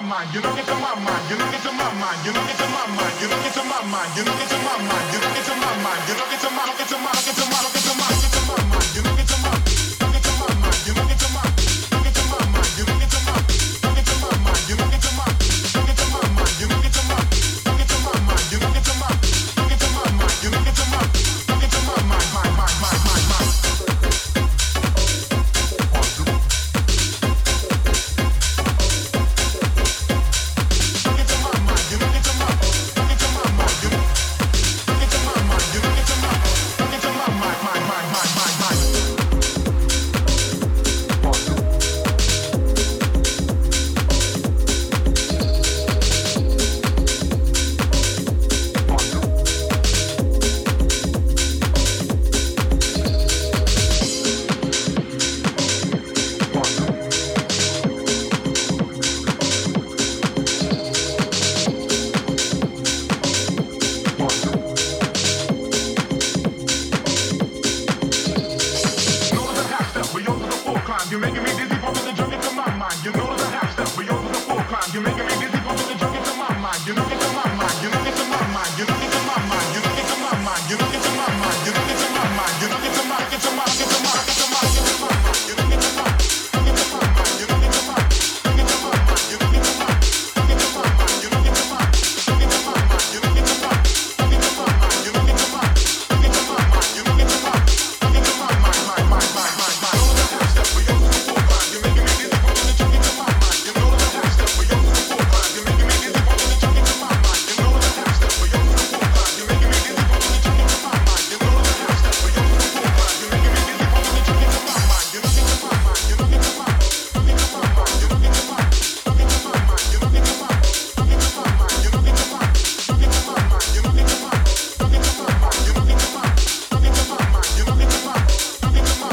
mind, you don't get to my mind, you don't get to my mind, you don't get to my mind, you don't get to my mind, you don't get to my mind, you don't get to my mind, you don't get to my, don't get to my, don't get to my, don't get to my, don't get to my mind, you don't get to my, don't get to my mind, you don't get to my, don't get to my mind, you don't get to my, don't get to my mind, you don't get to my, don't get to my mind, you don't get to my, don't get to my mind, you don't get to my, don't get to my mind, you don't get to my, don't get to my mind, mind. You're making me dizzy, pumping the junk into my mind. You know the half step, but yours is a full climb. You're making me dizzy, pumping the junk into my mind. You don't get to my mind. You don't get to my mind. You don't get to my mind. You don't get to my mind. You don't get to my mind. You don't get to my mind. You don't get to my, get to my, get to my, get to my, get to my mind. You don't get to my, don't get to my mind. You don't get to my, don't get to my mind. You don't get to my, don't get to my mind. You don't get to my, don't get to my mind. You don't get to my, don't get to my mind. You don't get to my, don't get to my mind. You don't get to my, don't get to my mind. Know the half step, but yours is a full climb. You're making me dizzy, pumping the junk into my mind. You know the half step, but yours is a full climb. You're making me dizzy, pumping the junk into my mind. You know the half step, but yours is a full climb. You're making me dizzy, pumping the junk into my mind. You know the half step, but yours is a full climb. You're making me dizzy, pumping the junk into my mind. You don't get to my mind. You don't get to my, don't get to my mind. You don't get to my, don't get to my mind. You don't get to my, don't get to my mind. You don't get to my, don't get to my mind. You don't get to my, don't get to my mind. You don't get to my, don't get to my mind. You don't get to my, don't get to my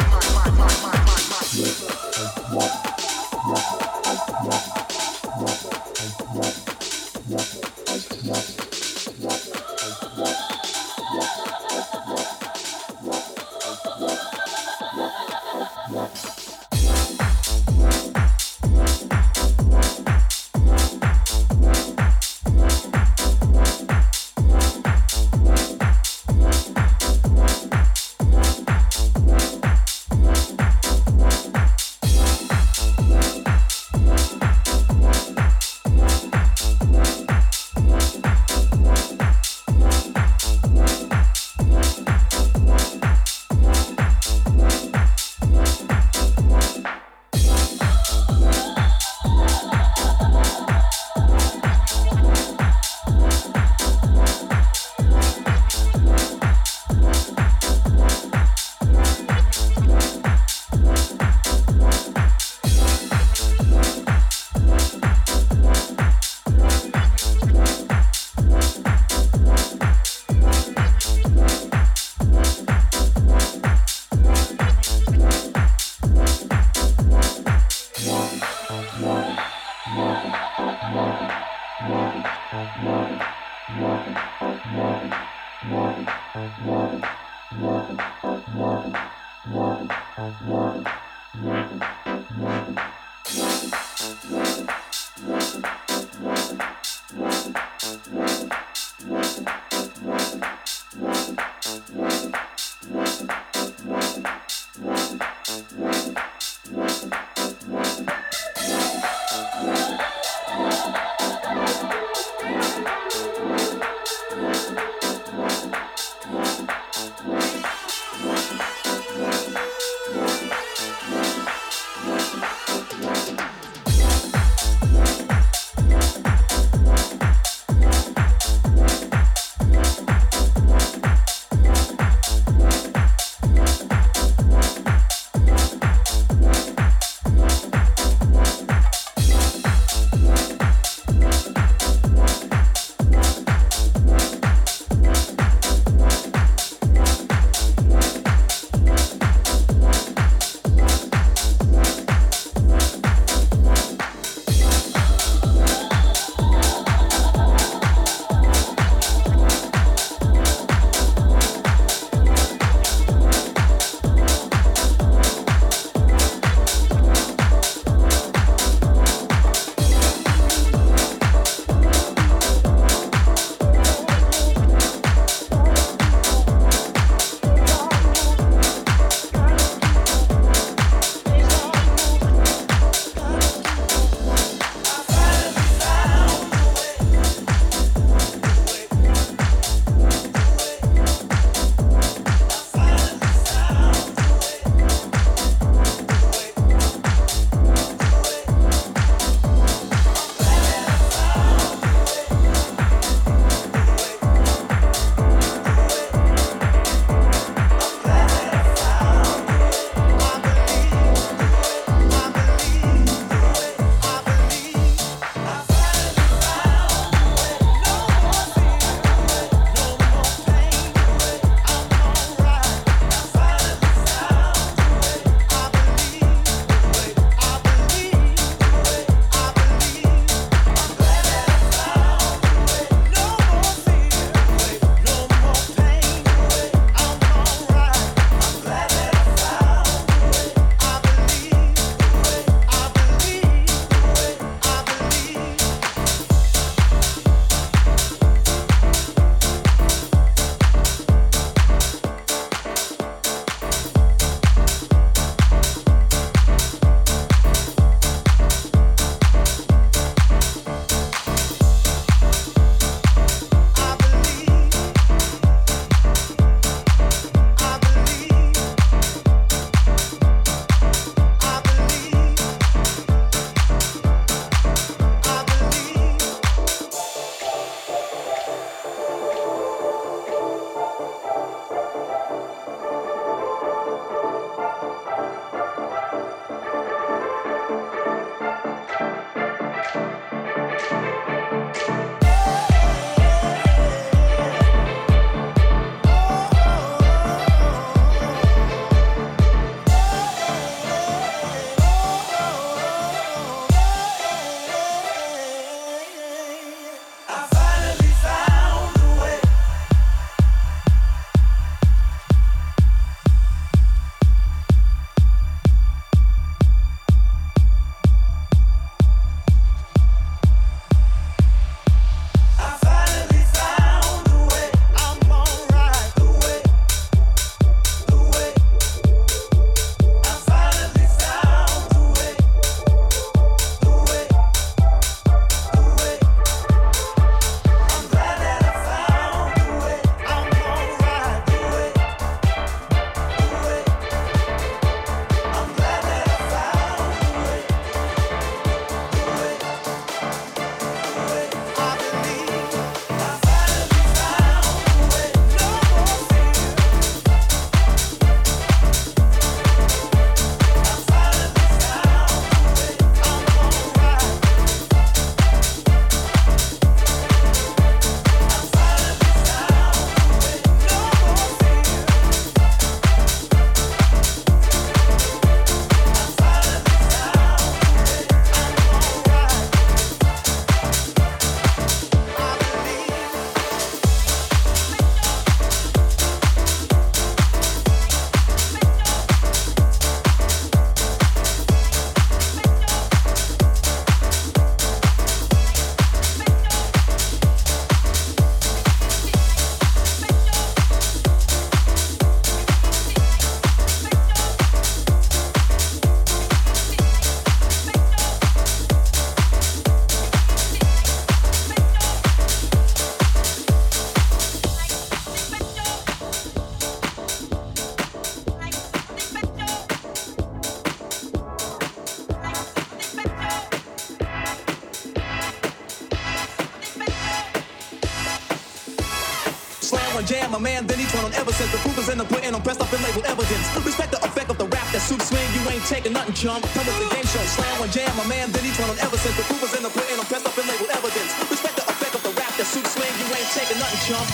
and jam a man, then each one on ever since the proof is in the pudding on pressed up and labeled evidence. Respect the effect of the rap that suits swing, you ain't taking nothing, chump. Come with the game show, slam and jam a man, then each one on ever since the proof is in the pudding on pressed up and labeled evidence. Respect the effect of the rap that suits swing, you ain't taking nothing, chump.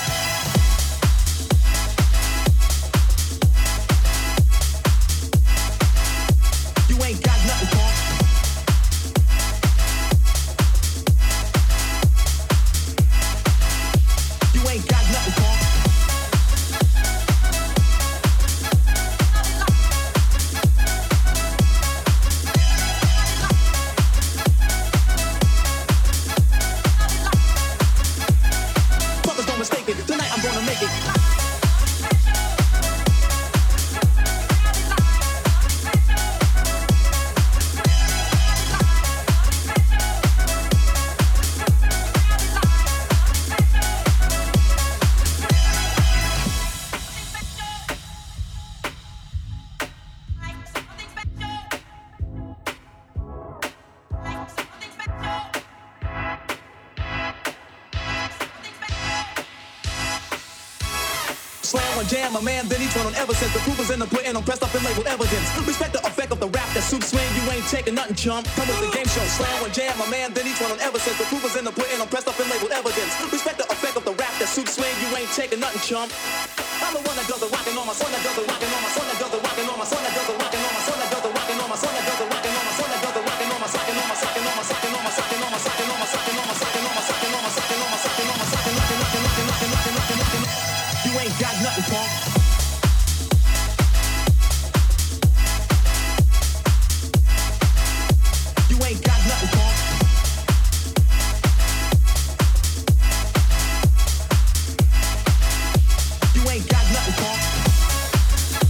You ain't got nothing, punk. You ain't got nothing, punk. Fuckers don't mistake it. Tonight I'm gonna make it. Slam one jam a man, then each one on ever since the proof is in the pudding on pressed up and labeled evidence. Respect the effect of the rap that suits swing, you ain't taking nothing, chump. Come with the game show, slam one jam a man, then each one on ever since the proof is in the pudding on pressed up and labeled evidence. Respect the effect of the rap that suits swing, you ain't taking nothing, chump. I'm the one that does the rockin' on my son, that does the rockin' on my son, that does the rockin' on my son, that does the rockin' on my son, that does the rockin' on my son, that does the rockin' on my son, that does the rockin' on my sockin' on my sockin' on my sockin' on my sockin' on my sockin' on my sockin' on my sockin' on my sockin' on my sockin' on my sockin' on my sockin' knockin'. You ain't got nothing, punk. You ain't got nothing, punk. You ain't got nothing, punk.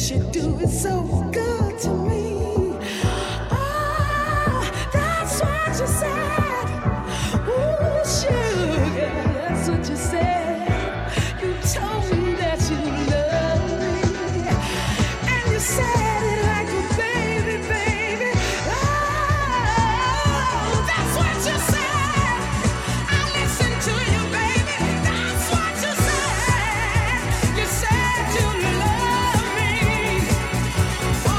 'cause you do it so good to me. Oh, that's what you said. Ooh, sugar, that's what you said. You told me that you love me, and you said it like a baby, baby. Oh, that's what you said. I listened to you, baby. That's what you said. You said you love me. Oh,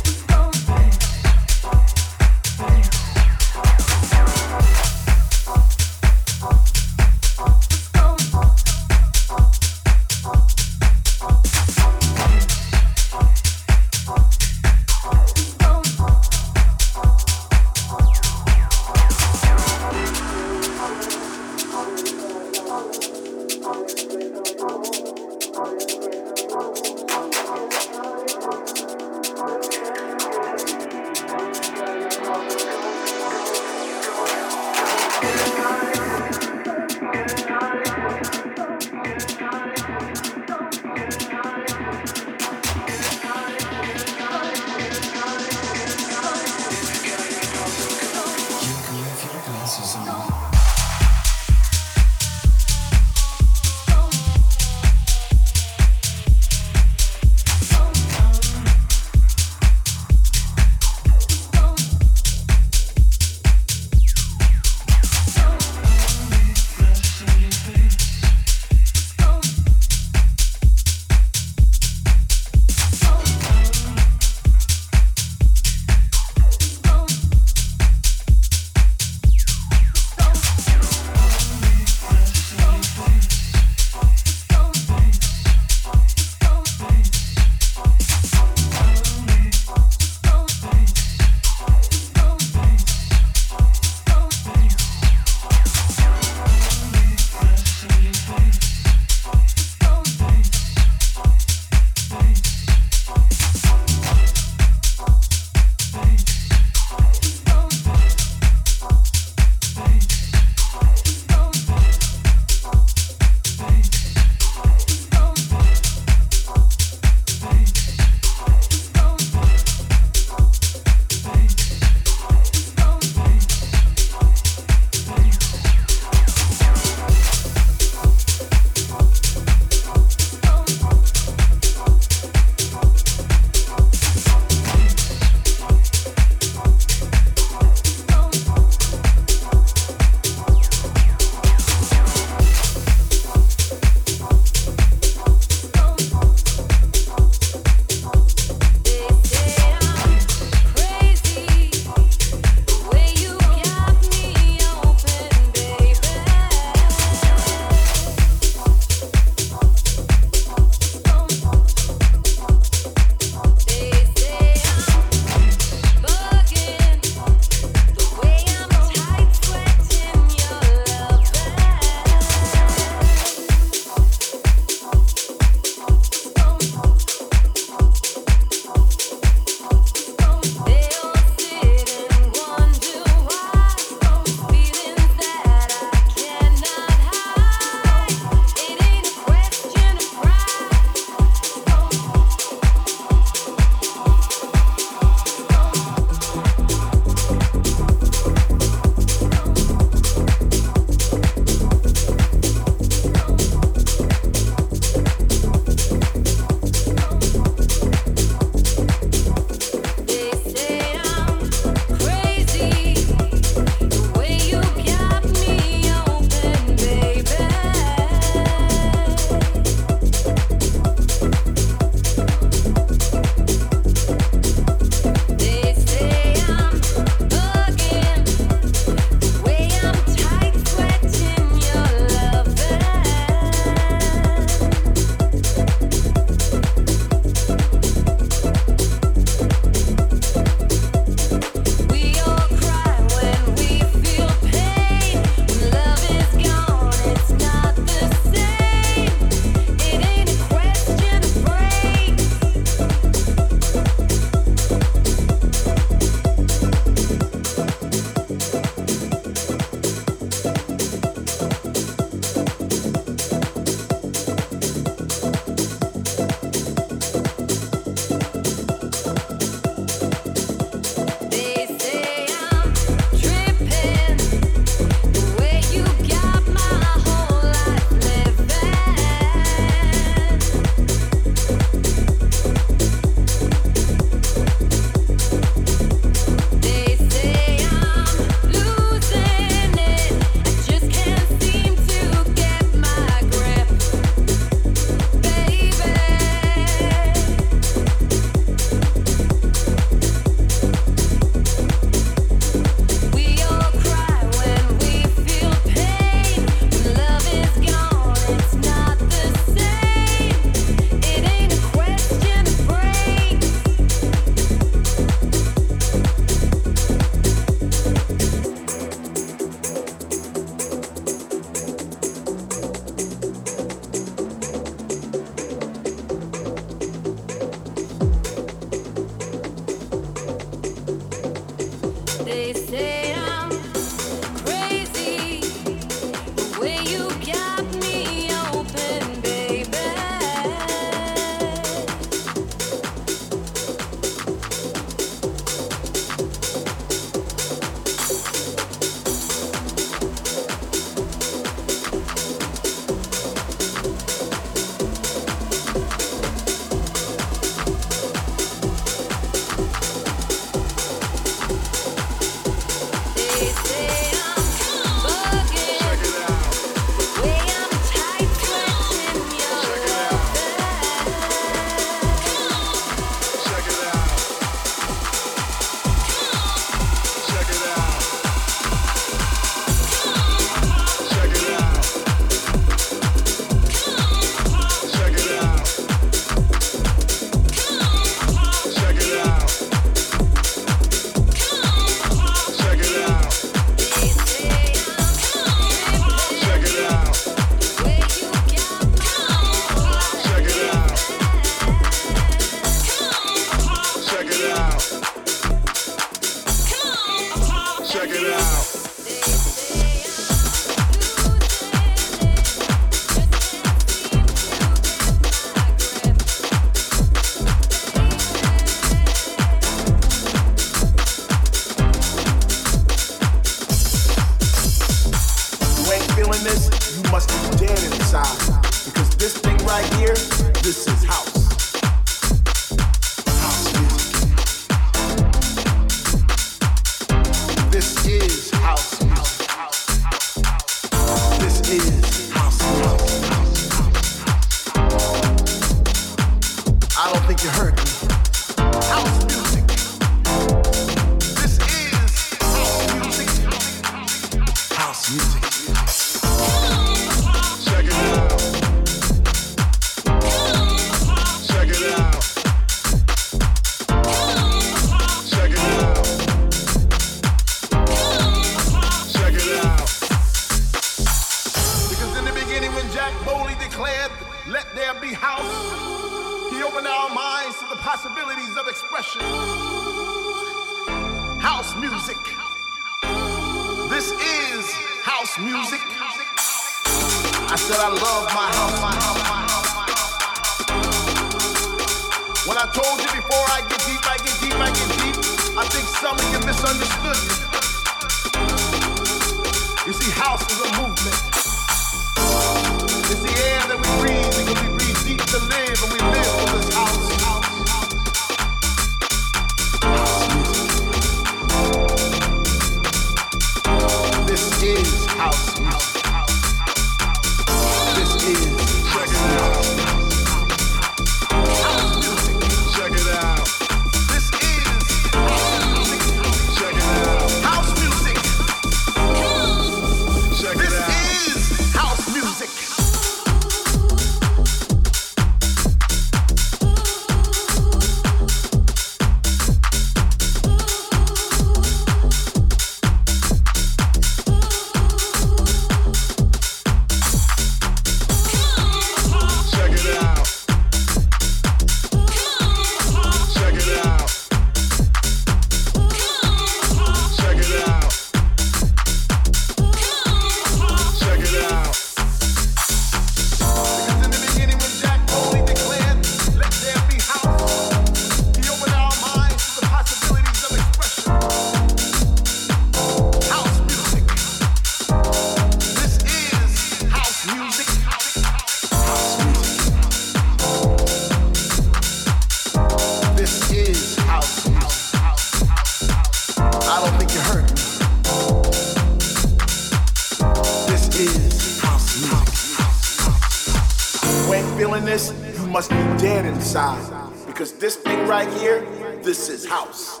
Because this thing right here, this is house.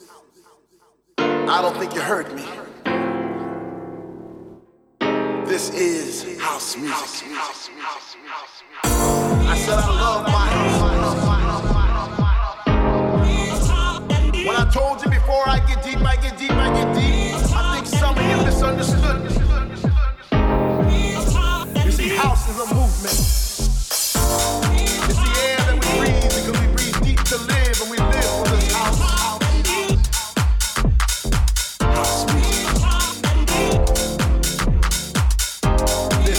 I don't think you heard me. This is house music. I said I love my house. When I told you before I get deep, I get deep, I get deep, I think some of you misunderstood me. You see, house is a movement. It's the air that we breathe because we breathe deep to live, and we live for this house. House music. This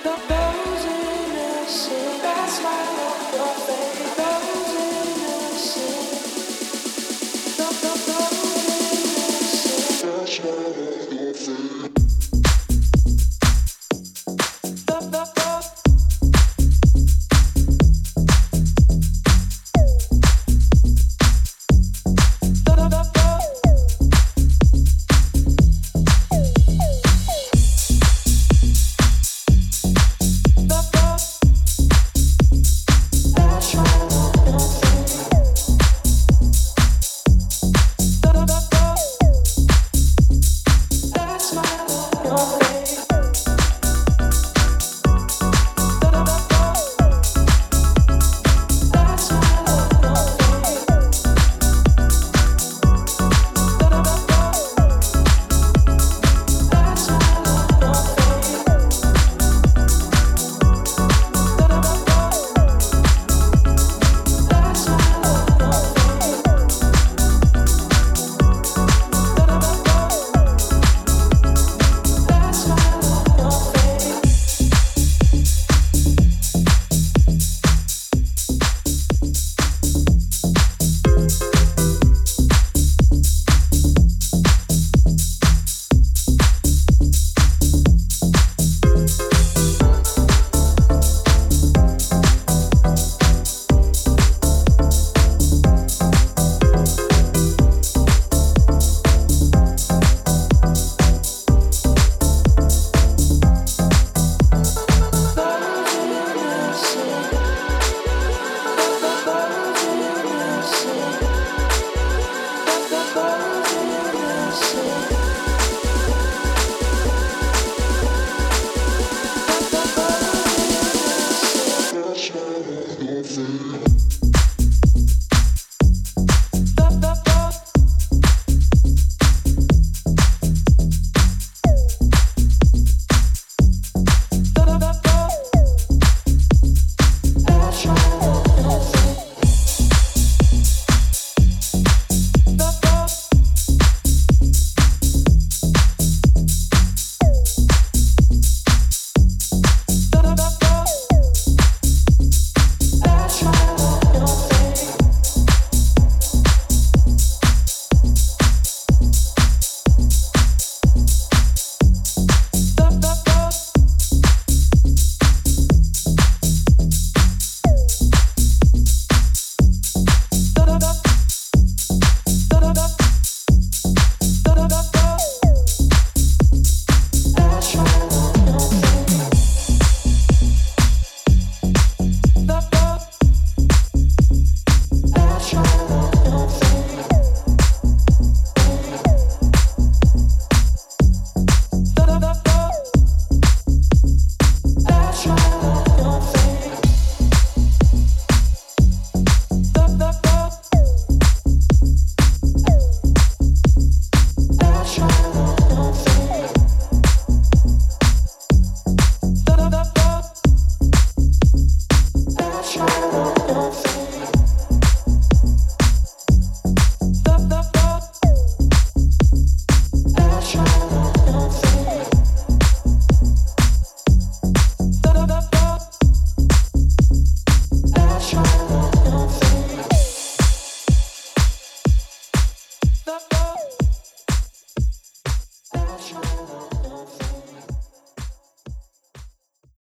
the